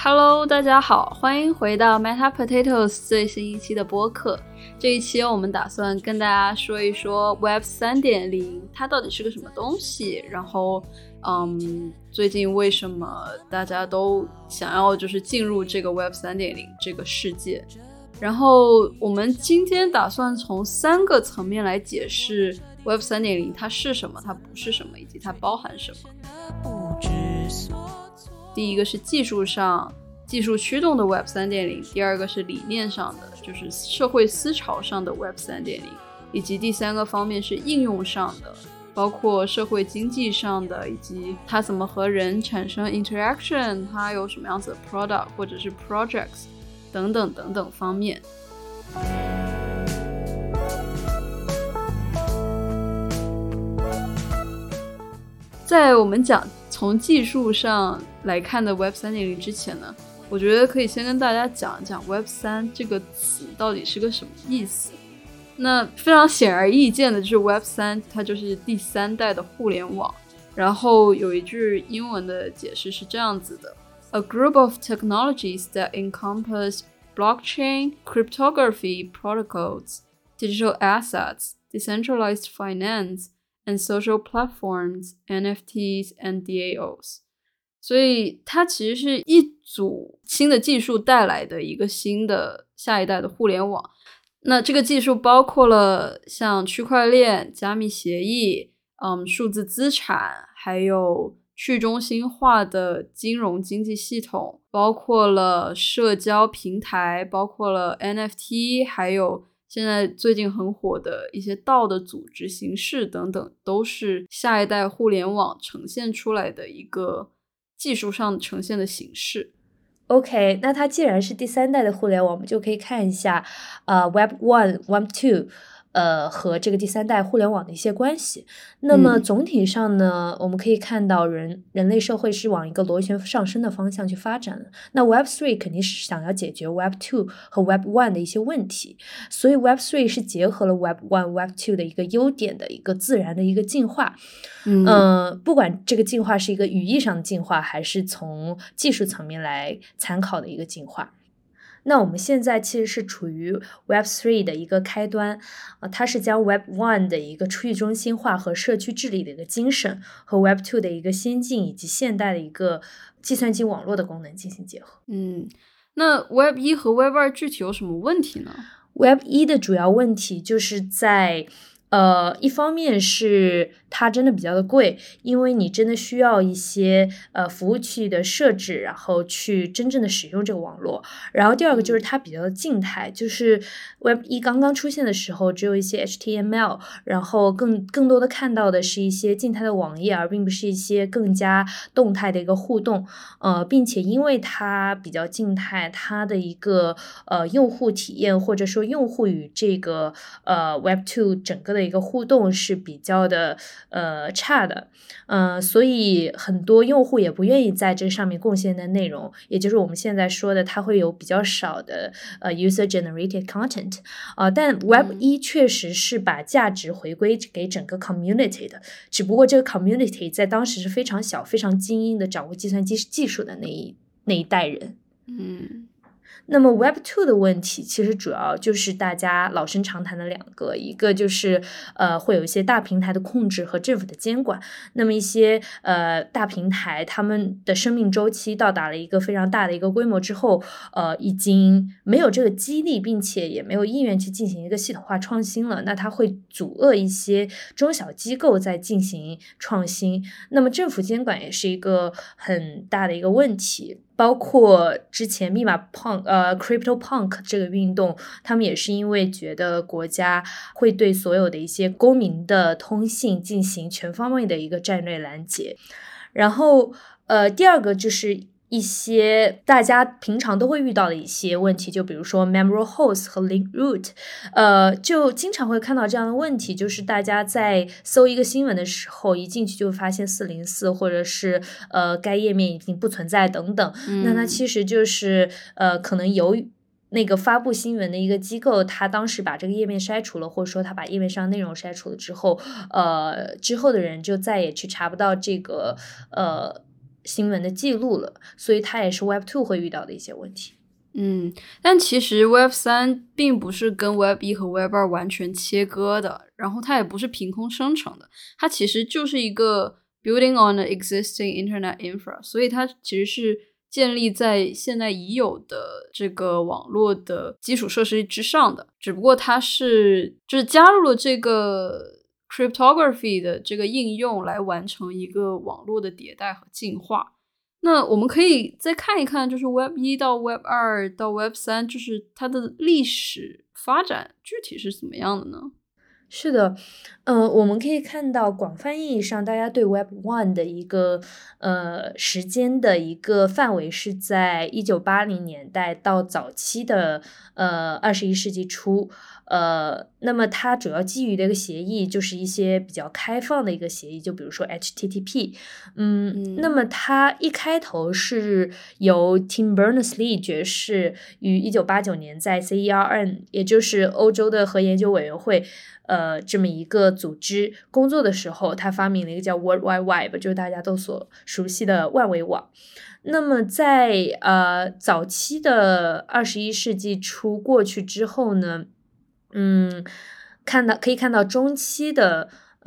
Hello， 大家好，欢迎回到 Meta Potatoes 最新一期的播客。这一期我们打算跟大家说一说 Web 3.0 它到底是个什么东西，然后最近为什么大家都想要就是进入这个 Web 3.0 这个世界。然后我们今天打算从3个层面来解释 Web 3.0 它是什么，它不是什么，以及它包含什么。第一个是技术上技术驱动的 Web 3.0， 第二个是理念上的，就是社会思潮上的 Web 3.0， 以及第三个方面是应用上的，包括社会经济上的，以及它怎么和人产生 interaction， 它有什么样子的 product 或者是 projects 等等等等方面。在我们讲从技术上来看的 Web 3.0 之前呢，我觉得可以先跟大家讲一讲 Web 3这个词到底是个什么意思。那非常显而易见的就是 Web 3它就是第3代的互联网。然后有一句英文的解释是这样子的 ：A group of technologies that encompass blockchain, cryptography protocols, digital assets, decentralized finance,and social platforms, NFTs and DAOs。 所以它其实是一组新的技术带来的一个新的下一代的互联网。那这个技术包括了像区块链、加密协议、数字资产，还有去中心化的金融经济系统，包括了社交平台，包括了 NFT， 还有现在最近很火的一些道的组织形式等等，都是下一代互联网呈现出来的一个技术上呈现的形式。 OK， 那它既然是第3代的互联网，我们就可以看一下Web 1、Web 2和这个第3代互联网的一些关系。那么总体上呢，我们可以看到人类社会是往一个螺旋上升的方向去发展的。那 Web 3肯定是想要解决 Web 2和 Web 1的一些问题，所以 Web 3是结合了 Web 1、Web 2的一个优点的一个自然的一个进化。不管这个进化是一个语义上的进化，还是从技术层面来参考的一个进化。那我们现在其实是处于 Web 3的一个开端，它是将 Web 1的一个去中心化和社区治理的一个精神，和 Web 2的一个先进以及现代的一个计算机网络的功能进行结合。 那 Web 1和 Web 2具体有什么问题呢？ Web 1的主要问题就是在一方面是它真的比较的贵，因为你真的需要一些服务器的设置，然后去真正的使用这个网络。然后第二个就是它比较的静态，就是 Web 1刚刚出现的时候只有一些 HTML， 然后更多的看到的是一些静态的网页，而并不是一些更加动态的一个互动。并且因为它比较静态，它的一个用户体验或者说用户与这个Web 2整个的一个互动是比较的差的，所以很多用户也不愿意在这上面贡献的内容，也就是我们现在说的它会有比较少的user generated content。但 Web 1确实是把价值回归给整个 community 的，只不过这个 community 在当时是非常小非常精英的掌握计算机技术的那一代人。那么 Web 2的问题其实主要就是大家老生常谈的2个，一个就是会有一些大平台的控制和政府的监管。那么一些大平台他们的生命周期到达了一个非常大的一个规模之后，已经没有这个激励，并且也没有意愿去进行一个系统化创新了，那它会阻遏一些中小机构在进行创新。那么政府监管也是一个很大的一个问题，包括之前密码CryptoPunk 这个运动，他们也是因为觉得国家会对所有的一些公民的通信进行全方位的一个战略拦截。然后第二个就是一些大家平常都会遇到的一些问题，就比如说 memory host 和 link root， 就经常会看到这样的问题，就是大家在搜一个新闻的时候，一进去就发现404，或者是该页面已经不存在等等。那它其实就是可能由于那个发布新闻的一个机构，他当时把这个页面筛除了，或者说他把页面上内容筛除了之后，之后的人就再也去查不到这个新闻的记录了，所以它也是 Web2 会遇到的一些问题。 但其实 Web3 并不是跟 Web1 和 Web2 完全切割的，然后它也不是凭空生成的，它其实就是一个 building on the existing internet infra， 所以它其实是建立在现在已有的这个网络的基础设施之上的，只不过它就是加入了这个 cryptography 的这个应用来完成一个网络的迭代和进化。那我们可以再看一看，就是 Web1 到 Web2 到 Web3， 就是它的历史发展具体是怎么样的呢？ 是的，我们可以看到广泛意义上，大家对 Web1 的一个时间的一个范围是在1980年代到早期的21世纪初。那么它主要基于的一个协议就是一些比较开放的一个协议，就比如说 HTTP。那么它一开头是由 Tim Berners-Lee 爵士于1989年在 CERN， 也就是欧洲的核研究委员会这么一个组织工作的时候，他发明了一个叫 World Wide Web， 就是大家都所熟悉的万维网。那么在早期的21世纪初过去之后呢，可以看到中期的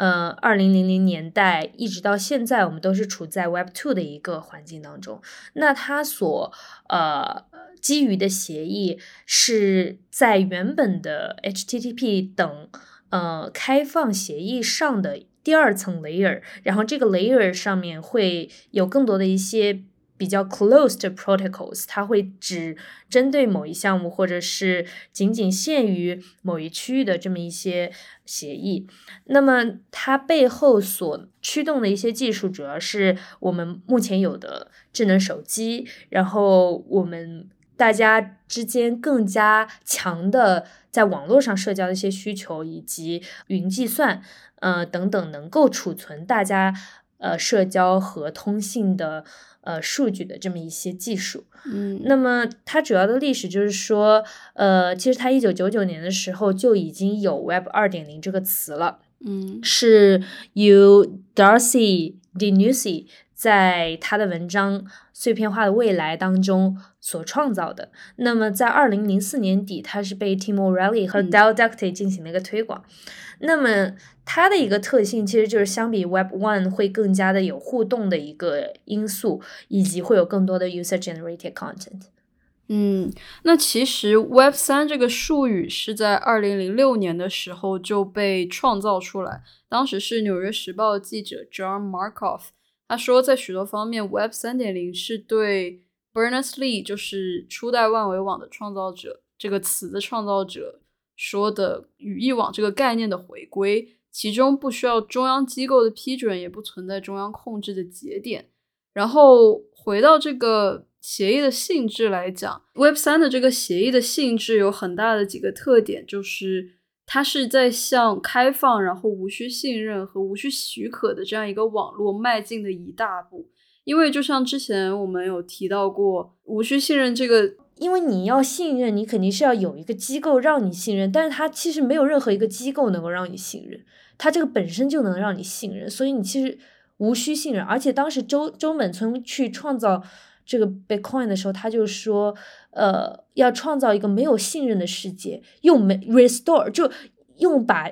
2000年代一直到现在，我们都是处在 Web2 的一个环境当中。那它所基于的协议是在原本的 HTTP 等开放协议上的第二层 layer， 然后这个 layer 上面会有更多的一些比较 closed protocols， 它会只针对某一项目或者是仅仅限于某一区域的这么一些协议。那么它背后所驱动的一些技术主要是我们目前有的智能手机，然后我们大家之间更加强的在网络上社交的一些需求，以及云计算等等能够储存大家社交和通信的数据的这么一些技术。那么它主要的历史就是说其实它1999年的时候就已经有 Web 2.0 这个词了。是由 Darcy DeNucci 在他的文章《碎片化的未来》当中所创造的。那么在2004年底，它是被 Tim O'Reilly 和 Dell Ducty 进行了一个推广。那么它的一个特性其实就是相比 Web1 会更加的有互动的一个因素，以及会有更多的 user generated content。 那其实 Web3 这个术语是在2006年的时候就被创造出来，当时是纽约时报记者 John Markoff， 他说在许多方面 Web 3.0 是对 Berners-Lee 就是初代万维网的创造者这个词的创造者说的语义网这个概念的回归，其中不需要中央机构的批准，也不存在中央控制的节点。然后回到这个协议的性质来讲， Web3 的这个协议的性质有很大的几个特点，就是它是在向开放然后无需信任和无需许可的这样一个网络迈进的一大步。因为就像之前我们有提到过，无需信任这个， 因为你要信任，你肯定是要有一个机构让你信任，但是它其实没有任何一个机构能够让你信任，它这个本身就能让你信任，所以你其实无需信任。而且当时周本聪去创造这个 Bitcoin 的时候，他就说要创造一个没有信任的世界，用restore 就用把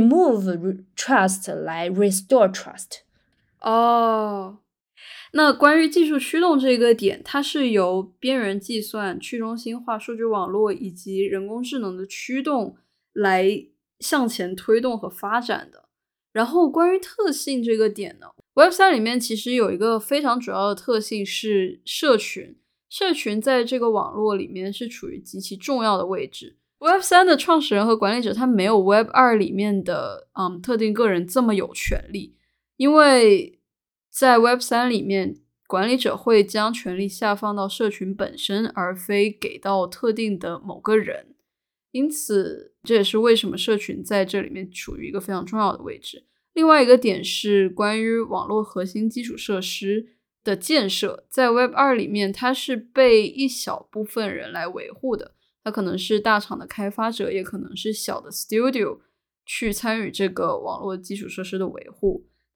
remove trust 来 restore trust。 那关于技术驱动这个点，它是由边缘计算、去中心化数据网络以及人工智能的驱动来向前推动和发展的。然后关于特性这个点呢， Web3 里面其实有一个非常主要的特性是社群，社群在这个网络里面是处于极其重要的位置。Web3 的创始人和管理者他没有 Web2 里面的特定个人这么有权利，因为在 Web3 里面，管理者会将权力下放到社群本身，而非给到特定的某个人。因此，这也是为什么社群在这里面处于一个非常重要的位置。另外一个点是关于网络核心基础设施的建设，在 Web2 里面，它是被一小部分人来维护的。它可能是大厂的开发者，也可能是小的 studio 去参与这个网络基础设施的维护。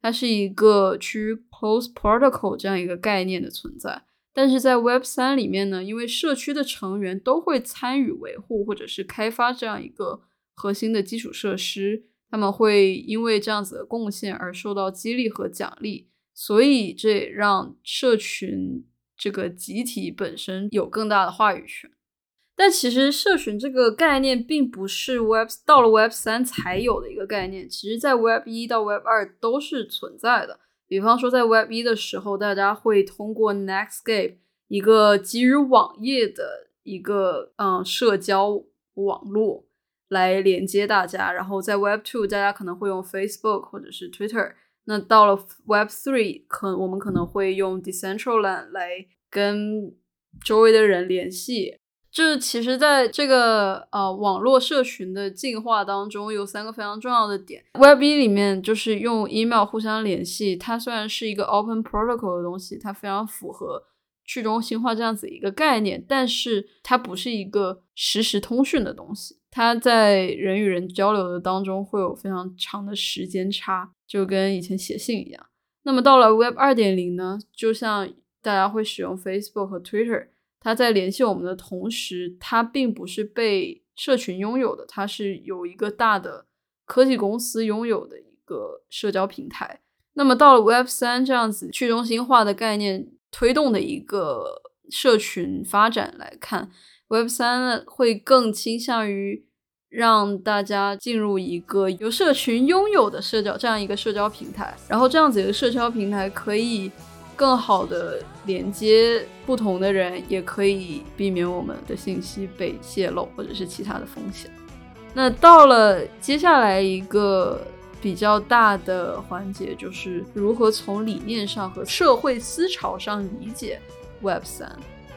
它是一个趋于 closed protocol 这样一个概念的存在。但是在 Web3 里面呢，因为社区的成员都会参与维护或者是开发这样一个核心的基础设施，他们会因为这样子的贡献而受到激励和奖励，所以这也让社群这个集体本身有更大的话语权。但其实社群这个概念并不是到了 Web3 才有的一个概念，其实在 Web1 到 Web2 都是存在的。比方说在 Web1 的时候，大家会通过 Netscape 一个基于网页的一个社交网络来连接大家，然后在 Web2 大家可能会用 Facebook 或者是 Twitter， 那到了 Web3 我们可能会用 Decentraland 来跟周围的人联系。这其实在这个网络社群的进化当中有3个非常重要的点。 Web1 里面就是用 email 互相联系，它虽然是一个 open protocol 的东西，它非常符合去中心化这样子一个概念，但是它不是一个实时通讯的东西，它在人与人交流的当中会有非常长的时间差，就跟以前写信一样。那么到了 Web 2.0 呢，就像大家会使用 Facebook 和 Twitter，它在联系我们的同时，它并不是被社群拥有的，它是有一个大的科技公司拥有的一个社交平台。那么到了 Web3 这样子去中心化的概念推动的一个社群发展来看， Web3 会更倾向于让大家进入一个由社群拥有的这样一个社交平台，然后这样子一个社交平台可以更好的连接不同的人，也可以避免我们的信息被泄露或者是其他的风险。那到了接下来一个比较大的环节，就是如何从理念上和社会思潮上理解 Web3。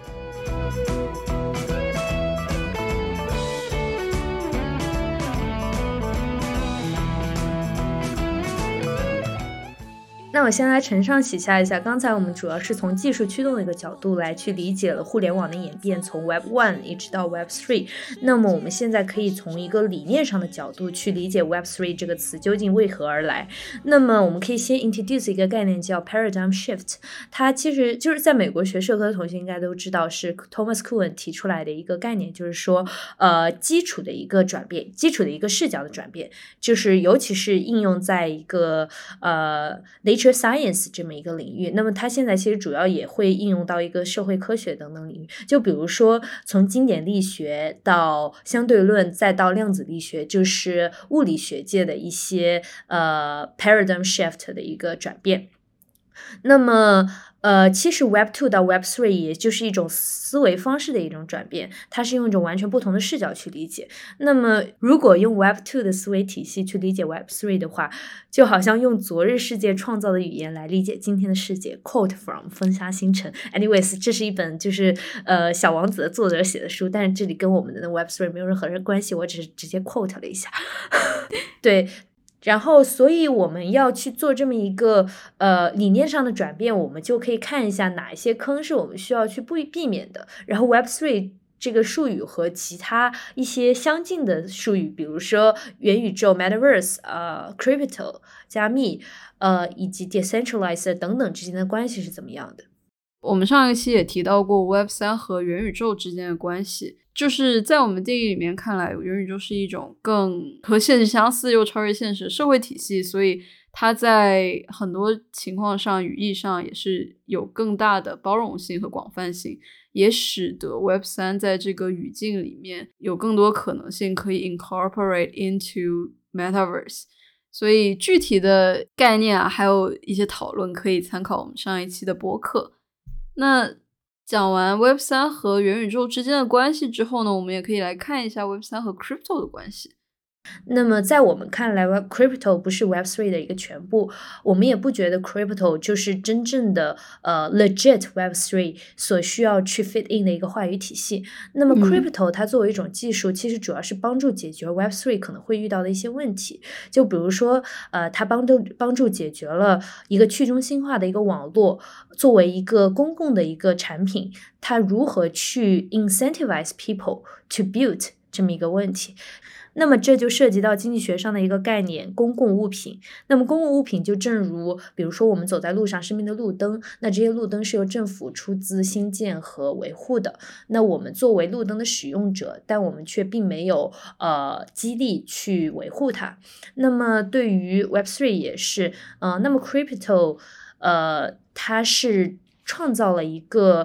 那我先来承上启下一下，刚才我们主要是从技术驱动的一个角度来去理解了互联网的演变，从 Web1 一直到 Web3。那么我们现在可以从一个理念上的角度去理解 Web3 这个词究竟为何而来。那么我们可以先 introduce 一个概念叫 paradigm shift， 它其实就是在美国学社科的同学应该都知道，是 Thomas Kuhn 提出来的一个概念，就是说基础的一个转变，基础的一个视角的转变，就是尤其是应用在一个Nature Science 这么一个领域。那么它现在其实主要也会应用到一个社会科学等等领域，就比如说从经典力学到相对论再到量子力学，就是物理学界的一些paradigm shift 的一个转变。那么其实 Web2 到 Web3 也就是一种思维方式的一种转变，它是用一种完全不同的视角去理解。那么如果用 Web2 的思维体系去理解 Web3 的话，就好像用昨日世界创造的语言来理解今天的世界。 Quote from 风沙星辰。 Anyways， 这是一本就是小王子的作者写的书，但是这里跟我们的 Web3 没有任何关系，我只是直接 quote 了一下对，然后所以我们要去做这么一个理念上的转变，我们就可以看一下哪一些坑是我们需要去避免的。然后 Web3 这个术语和其他一些相近的术语，比如说元宇宙 Metaverse Crypto 加密以及 Decentralized 等等之间的关系是怎么样的。 我们上一期也提到过 Web3 和元宇宙之间的关系，就是在我们定义里面看来，元宇宙是一种更和现实相似又超越现实的社会体系，所以它在很多情况上语义上也是有更大的包容性和广泛性，也使得 Web3 在这个语境里面有更多可能性可以 incorporate into Metaverse。所以具体的概念还有一些讨论可以参考我们上一期的播客。那讲完 Web3 和元宇宙之间的关系之后呢，我们也可以来看一下 Web3 和 Crypto 的关系。 那么在我们看来 Crypto 不是 Web3 的一个全部，我们也不觉得 Crypto 就是真正的legit Web3 所需要去 fit in 的一个话语体系。那么 Crypto 它作为一种技术，其实主要是帮助解决 Web3 可能会遇到的一些问题，就比如说它帮助解决了一个去中心化的一个网络作为一个公共的一个产品，它如何去 incentivize people to build 这么一个问题。 那么这就涉及到经济学上的一个概念，公共物品。那么公共物品就正如比如说我们走在路上身边的路灯，那这些路灯是由政府出资兴建和维护的，那我们作为路灯的使用者，但我们却并没有激励去维护它。那么对于 Web3 也是那么 Crypto 它是创造了一个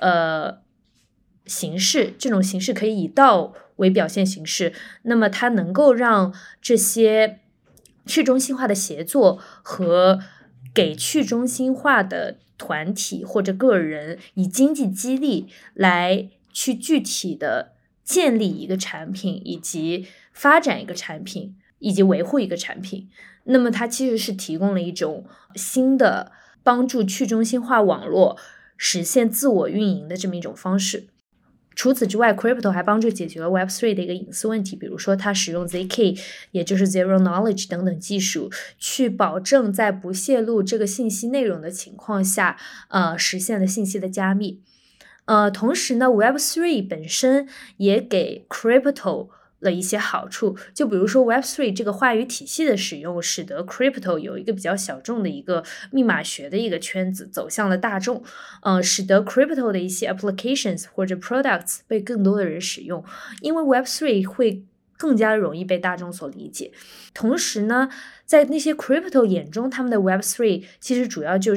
形式，这种形式可以以道为表现形式，那么它能够让这些去中心化的协作和给去中心化的团体或者个人以经济激励来去具体的建立一个产品，以及发展一个产品，以及维护一个产品。那么它其实是提供了一种新的帮助去中心化网络实现自我运营的这么一种方式。除此之外 Crypto 还帮助解决了 Web3 的一个隐私问题，比如说它使用 ZK 也就是 Zero Knowledge 等等技术，去保证在不泄露这个信息内容的情况下实现了信息的加密。同时呢 Web3 本身也给 Crypto了一些好处，就比如说 Web3 这个话语体系的使用，使得 Crypto 有一个比较小众的一个密码学的一个圈子走向了大众，使得 Crypto 的一些 applications 或者 products 被更多的人使用，因为 Web3 会更加容易被大众所理解。同时呢，在那些 Crypto 眼中，他们的 Web3 其实主要就是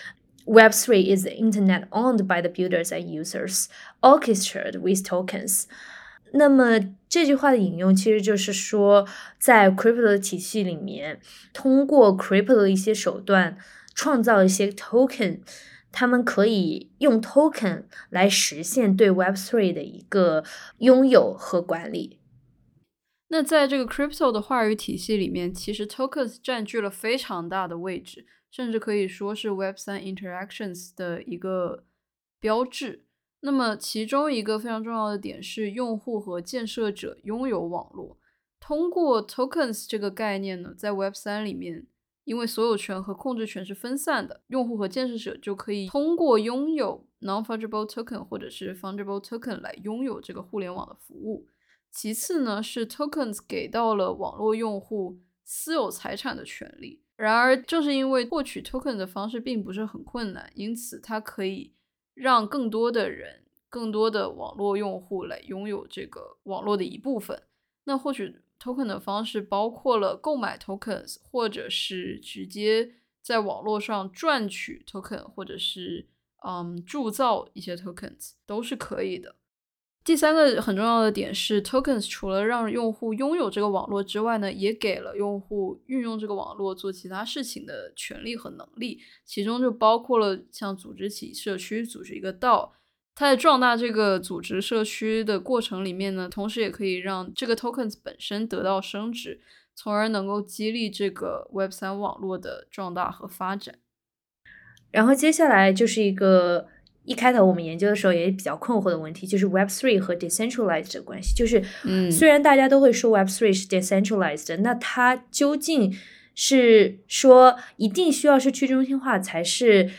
Web3 is the internet owned by the builders and users, orchestrated with tokens。那么这句话的引用其实就是说，在 Crypto 的体系里面，通过 Crypto 的一些手段创造一些 token， 他们可以用 token 来实现对 Web3 的一个拥有和管理。 那在这个 Crypto 的话语体系里面，其实 tokens 占据了非常大的位置，甚至可以说是 Web3 interactions 的一个标志。那么其中一个非常重要的点是用户和建设者拥有网络。通过 tokens 这个概念呢，在 Web3 里面，因为所有权和控制权是分散的，用户和建设者就可以通过拥有 non-fungible token 或者是 fungible token 来拥有这个互联网的服务。其次呢，是 tokens 给到了网络用户私有财产的权利。然而正是因为获取 token 的方式并不是很困难，因此它可以让更多的人、更多的网络用户来拥有这个网络的一部分。那获取 token 的方式包括了购买 tokens， 或者是直接在网络上赚取 token， 或者是铸造一些 tokens 都是可以的。第三个很重要的点是 tokens 除了让用户拥有这个网络之外呢，也给了用户运用这个网络做其他事情的权利和能力，其中就包括了像组织起社区、组织一个道。它在壮大这个组织社区的过程里面呢，同时也可以让这个 tokens 本身得到升值，从而能够激励这个 Web3 网络的壮大和发展。 然后接下来就是一个一开头我们研究的时候也比较困惑的问题，就是 Web3 和 decentralized 的关系。就是虽然大家都会说 Web3 是 decentralized，那它究竟是说一定需要是去中心化才是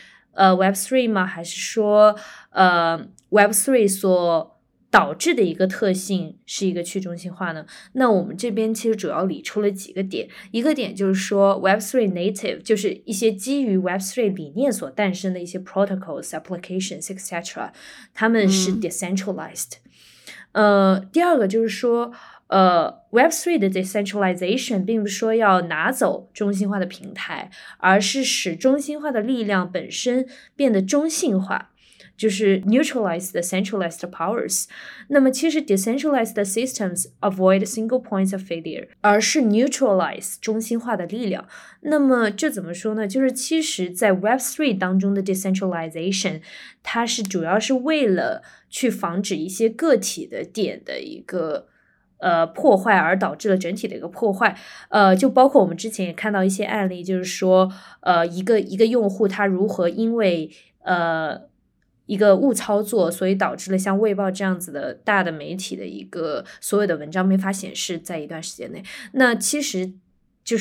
Web3 吗？还是说Web3 所导致的一个特性是一个去中心化呢？那我们这边其实主要理出了几个点。一个点就是说 Web3 native 就是一些基于 Web3 理念所诞生的一些 protocols, applications, etc. 他们是 decentralized。第二个就是说Web3 的 decentralization 并不是说要拿走中心化的平台，而是使中心化的力量本身变得中性化，就是 neutralize the centralized powers。 那么其实 decentralized systems avoid single points of failure， 而是 neutralize 中心化的力量。那么这怎么说呢？就是其实在 Web3 当中的 decentralization 它是主要是为了去防止一些个体的点的一个破坏而导致了整体的一个破坏。就包括我们之前也看到一些案例，就是说一个用户他如何因为一个误操作，所以导致了像卫报这样子的大的媒体的一个所有的文章没法显示在一段时间内。那其实就是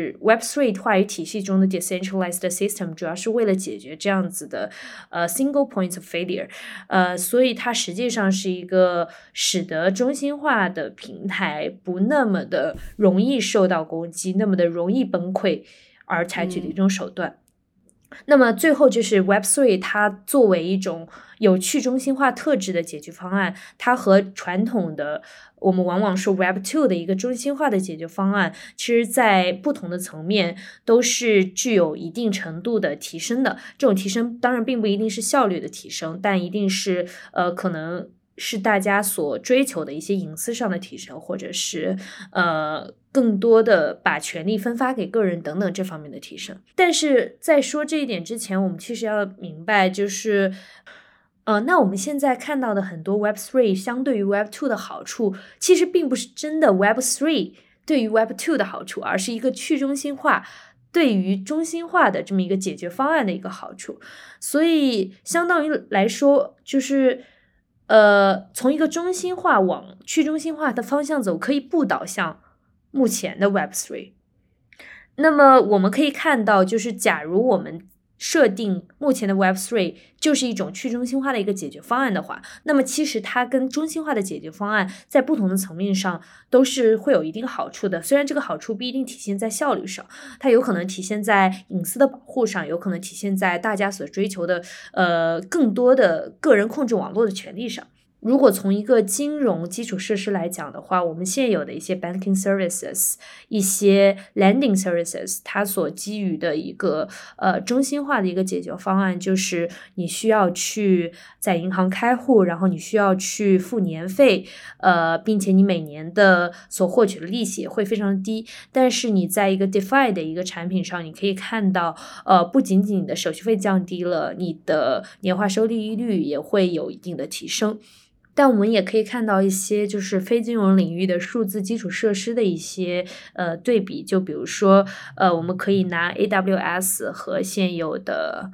Web3 话语体系中的 decentralized system 主要是为了解决这样子的single points of failure，所以它实际上是一个使得中心化的平台不那么的容易受到攻击，那么的容易崩溃而采取的一种手段。那么最后就是 Web3 它作为一种有去中心化特质的解决方案，它和传统的我们往往说 Web2 的一个中心化的解决方案，其实在不同的层面都是具有一定程度的提升的。这种提升当然并不一定是效率的提升，但一定是可能是大家所追求的一些隐私上的提升，或者是更多的把权力分发给个人等等这方面的提升。但是在说这一点之前，我们其实要明白就是那我们现在看到的很多 Web3 相对于 Web2 的好处，其实并不是真的 Web3 对于 Web2 的好处，而是一个去中心化对于中心化的这么一个解决方案的一个好处。所以相当于来说就是从一个中心化往去中心化的方向走，可以不导向目前的 Web3。那么我们可以看到，就是假如我们设定目前的 Web3 就是一种去中心化的一个解决方案的话，那么其实它跟中心化的解决方案在不同的层面上都是会有一定好处的。虽然这个好处不一定体现在效率上，它有可能体现在隐私的保护上，有可能体现在大家所追求的更多的个人控制网络的权利上。如果从一个金融基础设施来讲的话，我们现有的一些 banking services， 一些 lending services， 它所基于的一个中心化的一个解决方案，就是你需要去在银行开户，然后你需要去付年费，并且你每年的所获取的利息也会非常低。但是你在一个 DeFi 的一个产品上，你可以看到不仅仅你的手续费降低了，你的年化收益率也会有一定的提升。但我们也可以看到一些就是非金融领域的数字基础设施的一些对比，就比如说我们可以拿 AWS 和现有的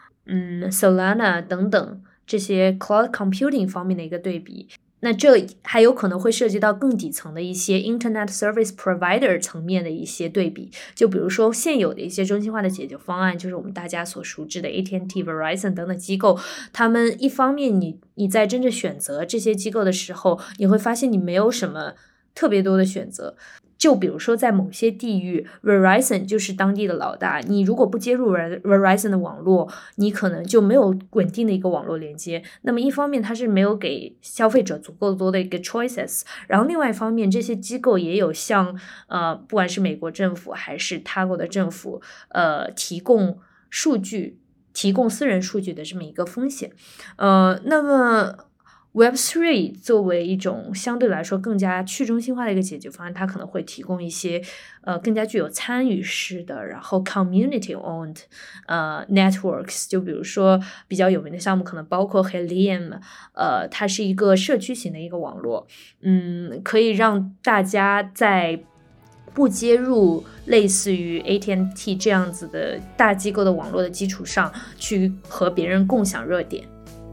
Solana 等等这些 cloud computing 方面的一个对比。那这还有可能会涉及到更底层的一些 Internet Service Provider 层面的一些对比，就比如说现有的一些中心化的解决方案，就是我们大家所熟知的 AT&T、Verizon 等等机构，他们一方面你在真正选择这些机构的时候，你会发现你没有什么特别多的选择。就比如说在某些地域 Verizon 就是当地的老大，你如果不接入 Verizon 的网络，你可能就没有稳定的一个网络连接。那么一方面它是没有给消费者足够多的一个 choices， 然后另外一方面这些机构也有向不管是美国政府还是他国的政府提供数据，提供私人数据的这么一个风险。那么Web3 作为一种相对来说更加去中心化的一个解决方案，它可能会提供一些更加具有参与式的，然后 community owned networks， 就比如说比较有名的项目可能包括 Helium， 它是一个社区型的一个网络，可以让大家在不接入类似于 AT&T 这样子的大机构的网络的基础上，去和别人共享热点。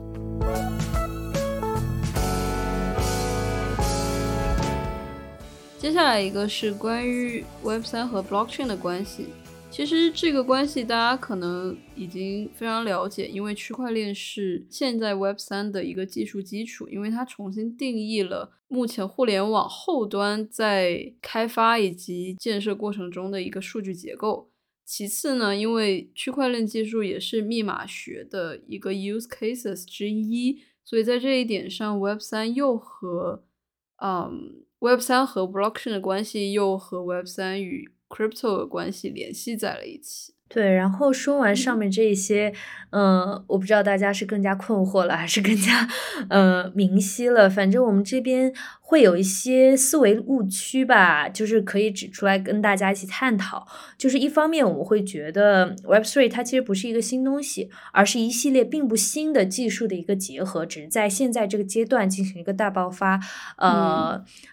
接下来一个是关于 Web3 和 Blockchain 的关系。其实这个关系大家可能已经非常了解，因为区块链是现在 Web3 的一个技术基础，因为它重新定义了目前互联网后端在开发以及建设过程中的一个数据结构。其次呢，因为区块链技术也是密码学的一个 use cases 之一，所以在这一点上 Web3 又和Web3 和 Blockchain 的关系又和 Web3 与 Crypto 的关系联系在了一起。 对，然后说完上面这一些，我不知道大家是更加困惑了，还是更加明晰了。反正我们这边会有一些思维误区吧，就是可以指出来跟大家一起探讨。就是一方面我们会觉得 Web3 它其实不是一个新东西，而是一系列并不新的技术的一个结合，只是在现在这个阶段进行一个大爆发。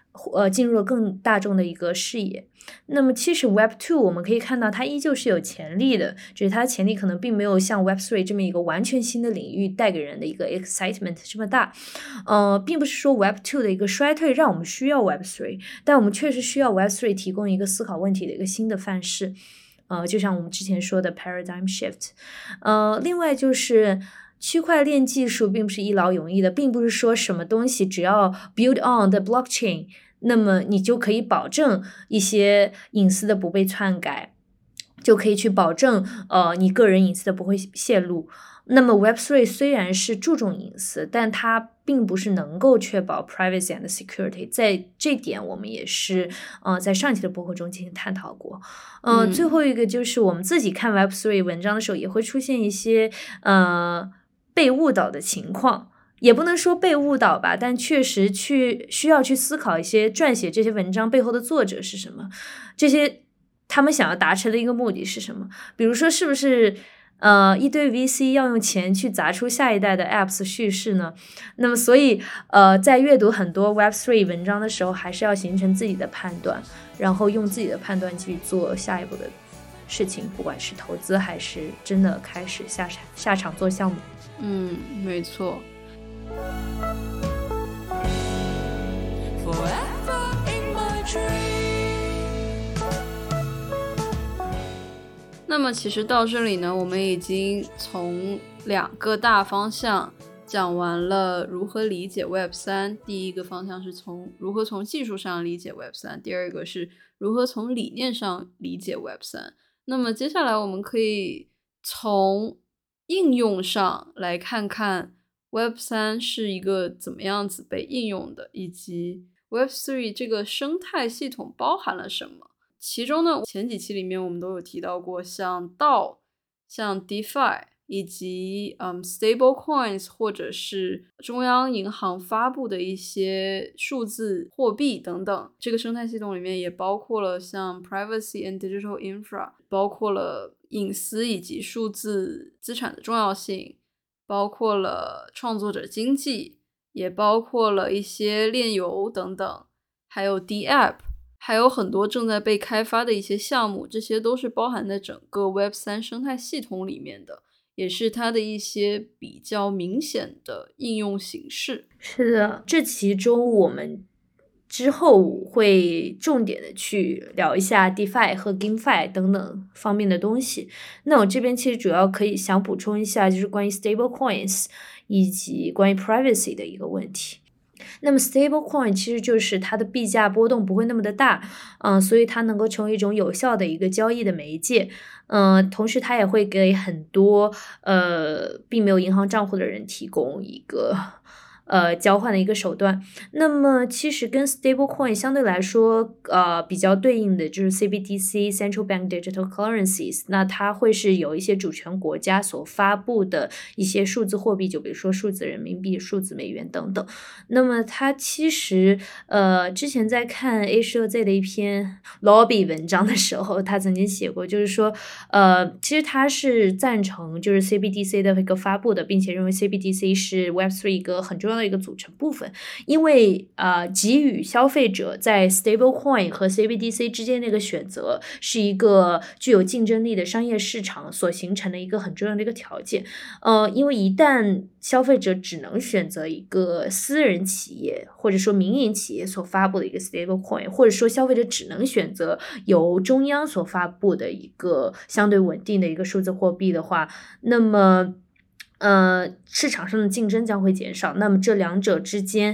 进入了更大众的一个视野。那么其实 Web2 我们可以看到它依旧是有潜力的，只是它的潜力可能并没有像 Web3 这么一个完全新的领域带给人的一个 excitement 这么大。并不是说 Web2 的一个衰退让我们需要 Web3， 但我们确实需要 Web3 提供一个思考问题的一个新的范式。就像我们之前说的 paradigm shift。另外就是区块链技术并不是一劳永逸的，并不是说什么东西只要 build on the blockchain， 那么你就可以保证一些隐私的不被篡改，就可以去保证你个人隐私的不会泄露。那么 Web3 虽然是注重隐私，但它并不是能够确保 privacy and security， 在这点我们也是在上期的播客中进行探讨过。最后一个就是我们自己看 Web3 文章的时候也会出现一些被误导的情况，也不能说被误导吧，但确实需要去思考一些撰写这些文章背后的作者是什么，这些他们想要达成的一个目的是什么。比如说是不是一堆 VC 要用钱去砸出下一代的 apps 叙事呢？那么所以在阅读很多 Web3 文章的时候，还是要形成自己的判断，然后用自己的判断去做下一步的事情，不管是投资还是真的开始下场做项目。 没错。那么其实到这里呢，我们已经从2个大方向讲完了如何理解 Web3。第一个方向是如何从技术上理解 Web3， 第二个是如何从理念上理解 Web3。那么接下来我们可以从应用上来看看 Web3 是一个怎么样子被应用的，以及 Web3 这个生态系统包含了什么。其中呢，前几期里面我们都有提到过，像 DAO、像 DeFi 以及stable coins 或者是中央银行发布的一些数字货币等等。这个生态系统里面也包括了像 privacy and digital infra， 包括了隐私以及数字资产的重要性，包括了创作者经济，也包括了一些链游等等，还有 DApp， 还有很多正在被开发的一些项目，这些都是包含在整个 Web3 生态系统里面的，也是它的一些比较明显的应用形式。 是的，这其中我们之后会重点的去聊一下 DeFi 和 GameFi 等等方面的东西。那我这边其实主要可以想补充一下，就是关于 stable coins 以及关于 privacy 的一个问题。那么 stable coin 其实就是它的币价波动不会那么的大，所以它能够成为一种有效的一个交易的媒介。同时它也会给很多并没有银行账户的人提供一个交换的一个手段。那么其实跟 stablecoin 相对来说比较对应的就是 CBDC Central Bank Digital Currencies， 那它会是有一些主权国家所发布的一些数字货币，就比如说数字人民币、数字美元等等。那么它其实之前在看 A 社 Z 的一篇 lobby 文章的时候，他曾经写过，就是说其实他是赞成就是 CBDC 的一个发布的，并且认为 CBDC 是 Web3 一个很重要的一个组成部分，因为给予消费者在 stablecoin 和 CBDC 之间的一个选择是一个具有竞争力的商业市场所形成的一个很重要的一个条件。因为一旦消费者只能选择一个私人企业或者说民营企业所发布的一个 stablecoin， 或者说消费者只能选择由中央所发布的一个相对稳定的一个数字货币的话，那么市场上的竞争将会减少，那么这两者之间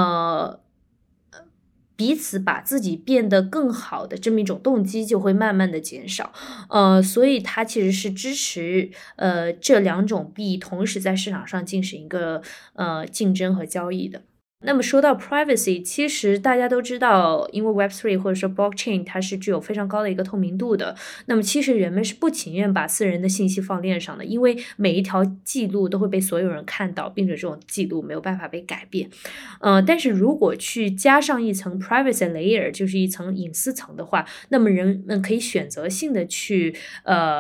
彼此把自己变得更好的这么一种动机就会慢慢的减少。所以它其实是支持这两种币同时在市场上进行一个竞争和交易的。那么说到 privacy， 其实大家都知道，因为 Web3 或者说 blockchain 它是具有非常高的一个透明度的，那么其实人们是不情愿把私人的信息放链上的，因为每一条记录都会被所有人看到，并且这种记录没有办法被改变。但是如果去加上一层 privacy layer， 就是一层隐私层的话，那么人们可以选择性的去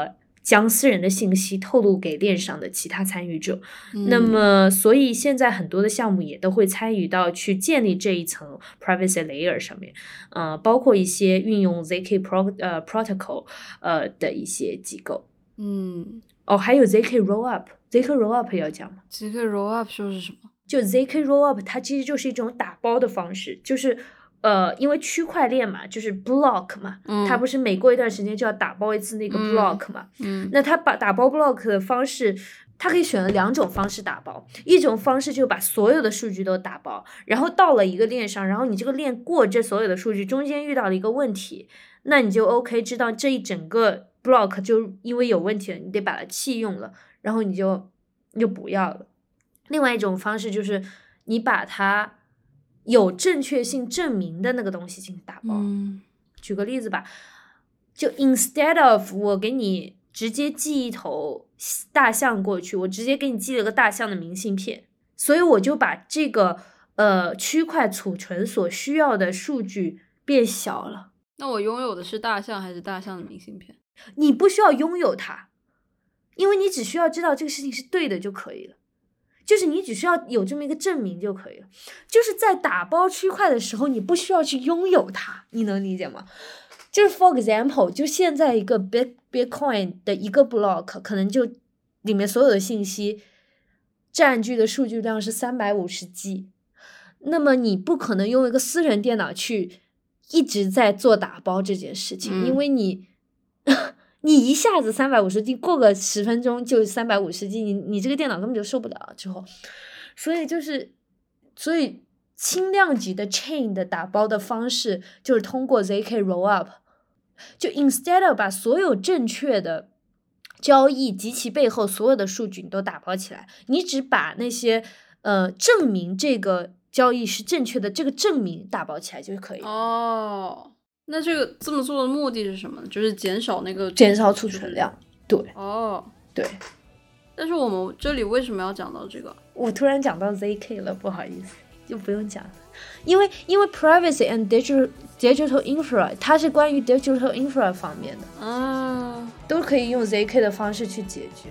将私人的信息透露给链上的其他参与者。那么所以现在很多的项目也都会参与到去建立这一层 privacy layer 上面，包括一些运用 ZK protocol 的一些机构。还有 ZK Rollup。ZK Rollup 要讲吗？ ZK Rollup 就是什么？ 就 ZK Rollup 它其实就是一种打包的方式，就是因为区块链嘛，就是 block 嘛，它不是每过一段时间就要打包一次那个 block 嘛，那它把打包 block 的方式，它可以选了2种方式打包，一种方式就把所有的数据都打包，然后到了一个链上，然后你这个链过这所有的数据，中间遇到了一个问题，那你就 OK 知道这一整个 block 就因为有问题了，你得把它弃用了，然后你就不要了。另外一种方式就是你把它有正确性证明的那个东西进行打包。举个例子吧，就 instead of 我给你直接寄一头大象过去，我直接给你寄了个大象的明信片，所以我就把这个区块储存所需要的数据变小了。 那我拥有的是大象还是大象的明信片？ 你不需要拥有它，因为你只需要知道这个事情是对的就可以了，就是你只需要有这么一个证明就可以了。就是在打包区块的时候，你不需要去拥有它，你能理解吗？就是 for example， 就现在一个 Bitcoin 的一个 block 可能就里面所有的信息占据的数据量是350G， 那么你不可能用一个私人电脑去一直在做打包这件事情，因为你一下子350G， 过个10分钟就350G， 你这个电脑根本就受不了之后，所以轻量级的 chain 的打包的方式就是通过 ZK Rollup， 就 instead of 把所有正确的交易及其背后所有的数据你都打包起来，你只把那些证明这个交易是正确的这个证明打包起来就可以了。 那这么做的目的是什么呢？就是减少储存量。对。对。 但是我们这里为什么要讲到这个？ 我突然讲到 ZK 了，不好意思，就不用讲了。因为 privacy and digital infra 它是关于 digital infra 方面的，都可以用 ZK 的方式去解决。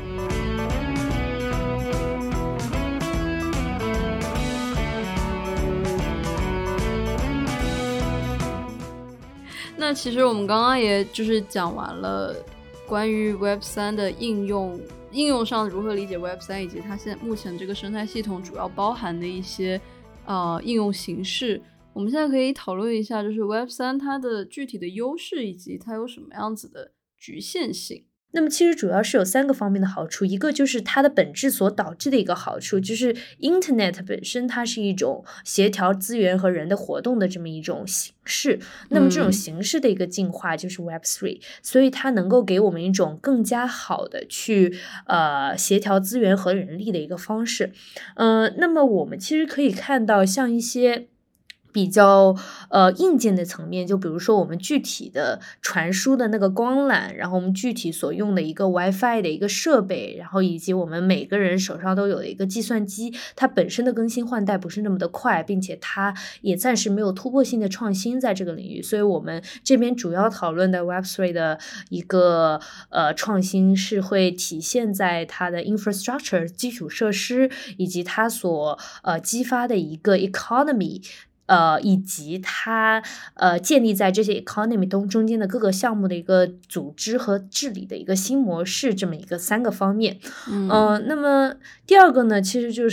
那其实我们刚刚也就是讲完了关于 Web3 的应用上如何理解 Web3， 以及它现在目前这个生态系统主要包含的一些应用形式。我们现在可以讨论一下，就是 Web3 它的具体的优势以及它有什么样子的局限性。 那么其实主要是有3个方面的好处，一个就是它的本质所导致的一个好处，就是 Internet 本身它是一种协调资源和人的活动的这么一种形式，那么这种形式的一个进化就是 Web3， 所以它能够给我们一种更加好的去协调资源和人力的一个方式。那么我们其实可以看到像一些比较硬件的层面，就比如说我们具体的传输的那个光缆，然后我们具体所用的一个 WiFi 的一个设备，然后以及我们每个人手上都有的一个计算机，它本身的更新换代不是那么的快，并且它也暂时没有突破性的创新在这个领域，所以我们这边主要讨论的 Web3 的一个创新是会体现在它的 infrastructure 基础设施，以及它所激发的一个 economy，以及它建立在这些 economy 中间的各个项目的一个组织和治理的一个新模式，这么一个3个方面。那么第二个呢，其实就是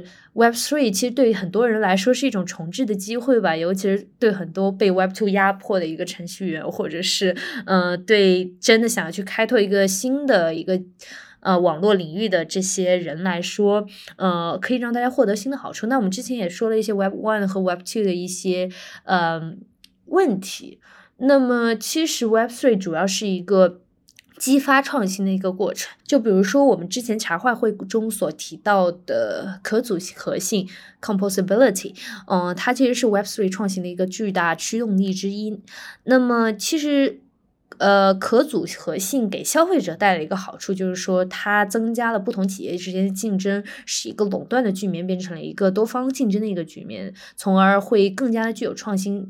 Web3 其实对于很多人来说是一种重置的机会吧，尤其是对很多被 Web2 压迫的一个程序员，或者是对真的想要去开拓一个新的一个网络领域的这些人来说，可以让大家获得新的好处。那我们之前也说了一些 Web1 和 Web2 的一些问题。那么其实 Web3 主要是一个激发创新的一个过程，就比如说我们之前茶话会中所提到的可组合性 composability， 它其实是 Web3 创新的一个巨大驱动力之一。那么其实可组合性给消费者带来一个好处，就是说它增加了不同企业之间的竞争，使一个垄断的局面变成了一个多方竞争的一个局面，从而会更加的具有创新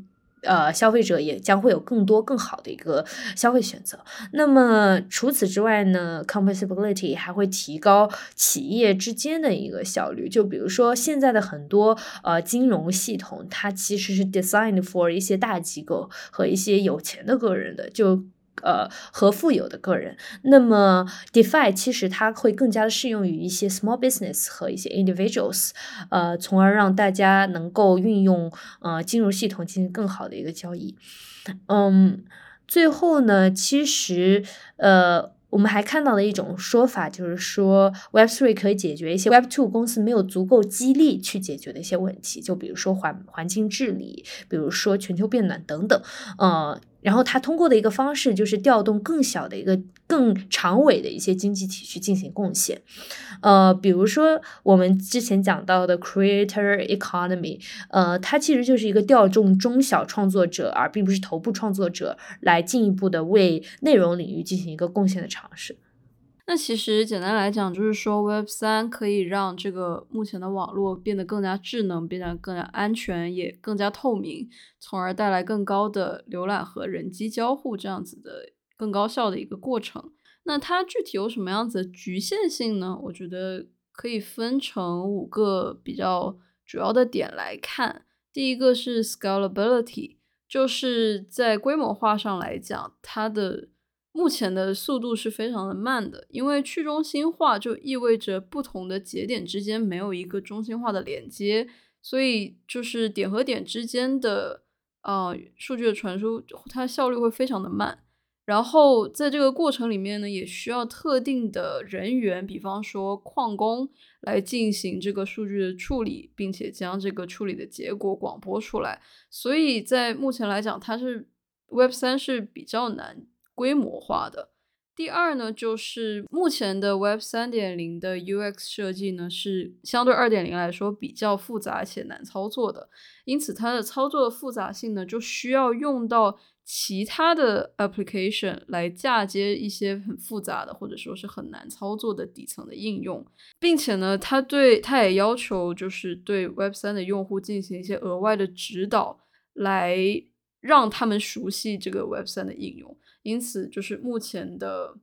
消费者也将会有更多更好的一个消费选择。那么除此之外呢 composability 还会提高企业之间的一个效率。就比如说现在的很多金融系统，它其实是 designed for 一些大机构和一些有钱的个人的，和富有的个人。那么 DeFi 其实它会更加的适用于一些 small business 和一些 individuals，从而让大家能够运用金融系统进行更好的一个交易。最后呢，其实我们还看到了一种说法，就是说 Web3 可以解决一些 Web2 公司没有足够激励去解决的一些问题，就比如说环境治理，比如说全球变暖等等。然后它通过的一个方式就是调动更小的一个更长尾的一些经济体去进行贡献。比如说我们之前讲到的 creator economy，它其实就是一个调动中小创作者而并不是头部创作者来进一步的为内容领域进行一个贡献的尝试。 那其实简单来讲就是说 Web3 可以让这个目前的网络变得更加智能，变得更加安全，也更加透明，从而带来更高的浏览和人机交互，这样子的更高效的一个过程。那它具体有什么样子的局限性呢？我觉得可以分成5个比较主要的点来看。第一个是 scalability， 就是在规模化上来讲，它的目前的速度是非常的慢的，因为去中心化就意味着不同的节点之间没有一个中心化的连接，所以就是点和点之间的数据的传输，它效率会非常的慢。然后在这个过程里面呢，也需要特定的人员，比方说矿工来进行这个数据的处理，并且将这个处理的结果广播出来。所以在目前来讲，它是 Web3 是比较难规模化的。第二呢，就是目前的 Web 3.0 的 UX 设计呢，是相对 2.0 来说比较复杂且难操作的，因此它的操作的复杂性呢，就需要用到其他的 application 来嫁接一些很复杂的或者说是很难操作的底层的应用，并且呢，它也要求就是对 Web 3的用户进行一些额外的指导，来让他们熟悉这个 Web 3的应用。因此就是目前的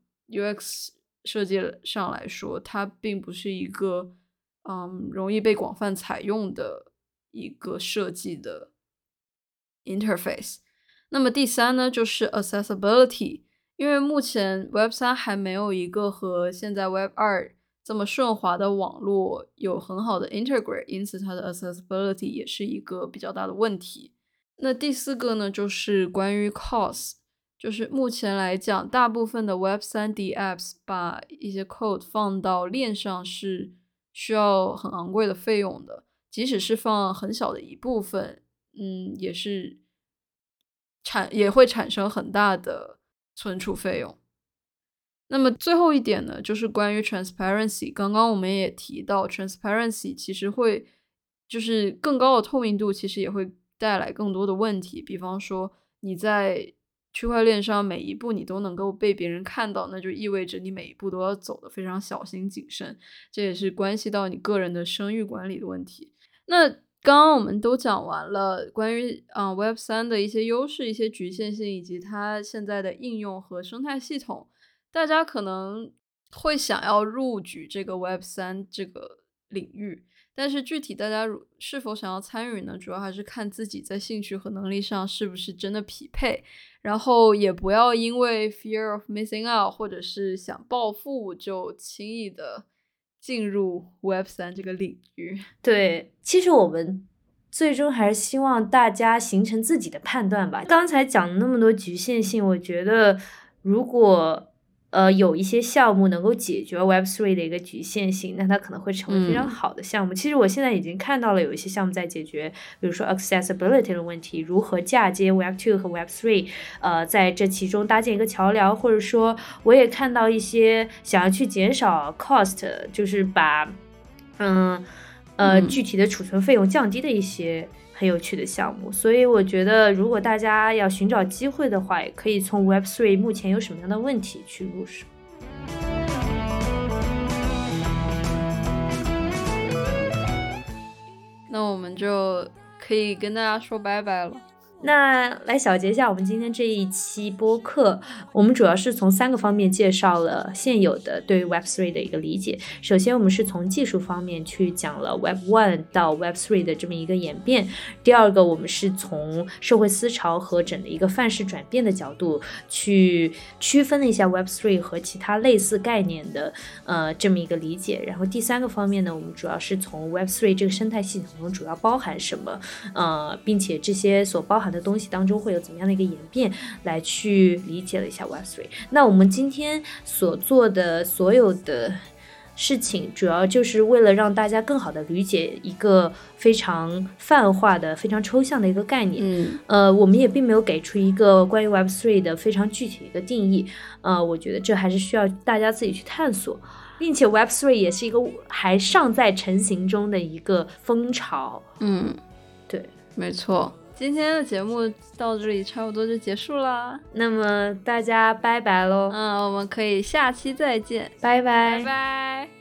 UX 设计上来说，它并不是一个容易被广泛采用的一个设计的 interface。 那么第三呢，就是 accessibility， 因为目前 Web 3还没有一个和现在 Web 2这么顺滑的网络有很好的 integrate， 因此它的 accessibility 也是一个比较大的问题。那第4个呢，就是关于 cost，就是目前来讲，大部分的 Web 3D apps 把一些 code 放到链上是需要很昂贵的费用的，即使是放很小的一部分，也会产生很大的存储费用。那么最后一点呢，就是关于 transparency。刚刚我们也提到 transparency 其实会就是更高的透明度，其实也会带来更多的问题。比方说你在区块链上每一步你都能够被别人看到，那就意味着你每一步都要走得非常小心谨慎，这也是关系到你个人的声誉管理的问题。那刚刚我们都讲完了关于Web 3的一些优势、一些局限性，以及它现在的应用和生态系统。大家可能会想要入局这个 Web 3这个领域，但是具体大家是否想要参与呢，主要还是看自己在兴趣和能力上是不是真的匹配，然后也不要因为 fear of missing out 或者是想暴富就轻易的进入 Web 3这个领域。 对，其实我们最终还是希望大家形成自己的判断吧。刚才讲了那么多局限性，我觉得如果有一些项目能够解决 Web3 的一个局限性，那它可能会成为非常好的项目。其实我现在已经看到了有一些项目在解决，比如说 accessibility 的问题，如何嫁接 Web2 和 Web3，在这其中搭建一个桥梁，或者说我也看到一些想要去减少 cost， 就是把具体的储存费用降低的一些很有趣的项目。所以我觉得如果大家要寻找机会的话，也可以从 Web3 目前有什么样的问题去入手。 那我们就可以跟大家说拜拜了。 那来小结一下我们今天这一期播客，我们主要是从3个方面介绍了现有的对于 Web3 的一个理解。首先我们是从技术方面去讲了 Web1 到 Web3 的这么一个演变。第二个我们是从社会思潮和整的一个范式转变的角度去区分了一下 Web3 和其他类似概念的这么一个理解。然后第3个方面呢，我们主要是从 Web3 这个生态系统中主要包含什么，并且这些所包含的东西当中会有怎么样的一个演变，来去理解了一下 Web3。 那我们今天所做的所有的事情主要就是为了让大家更好的理解一个非常泛化的非常抽象的一个概念。我们也并没有给出一个关于 Web3 的非常具体的一个定义。我觉得这还是需要大家自己去探索，并且 Web3 也是一个还尚在成型中的一个风潮。对， 没错。今天的节目到这里差不多就结束啦， 那么大家拜拜咯。 我们可以下期再见， 拜拜拜拜。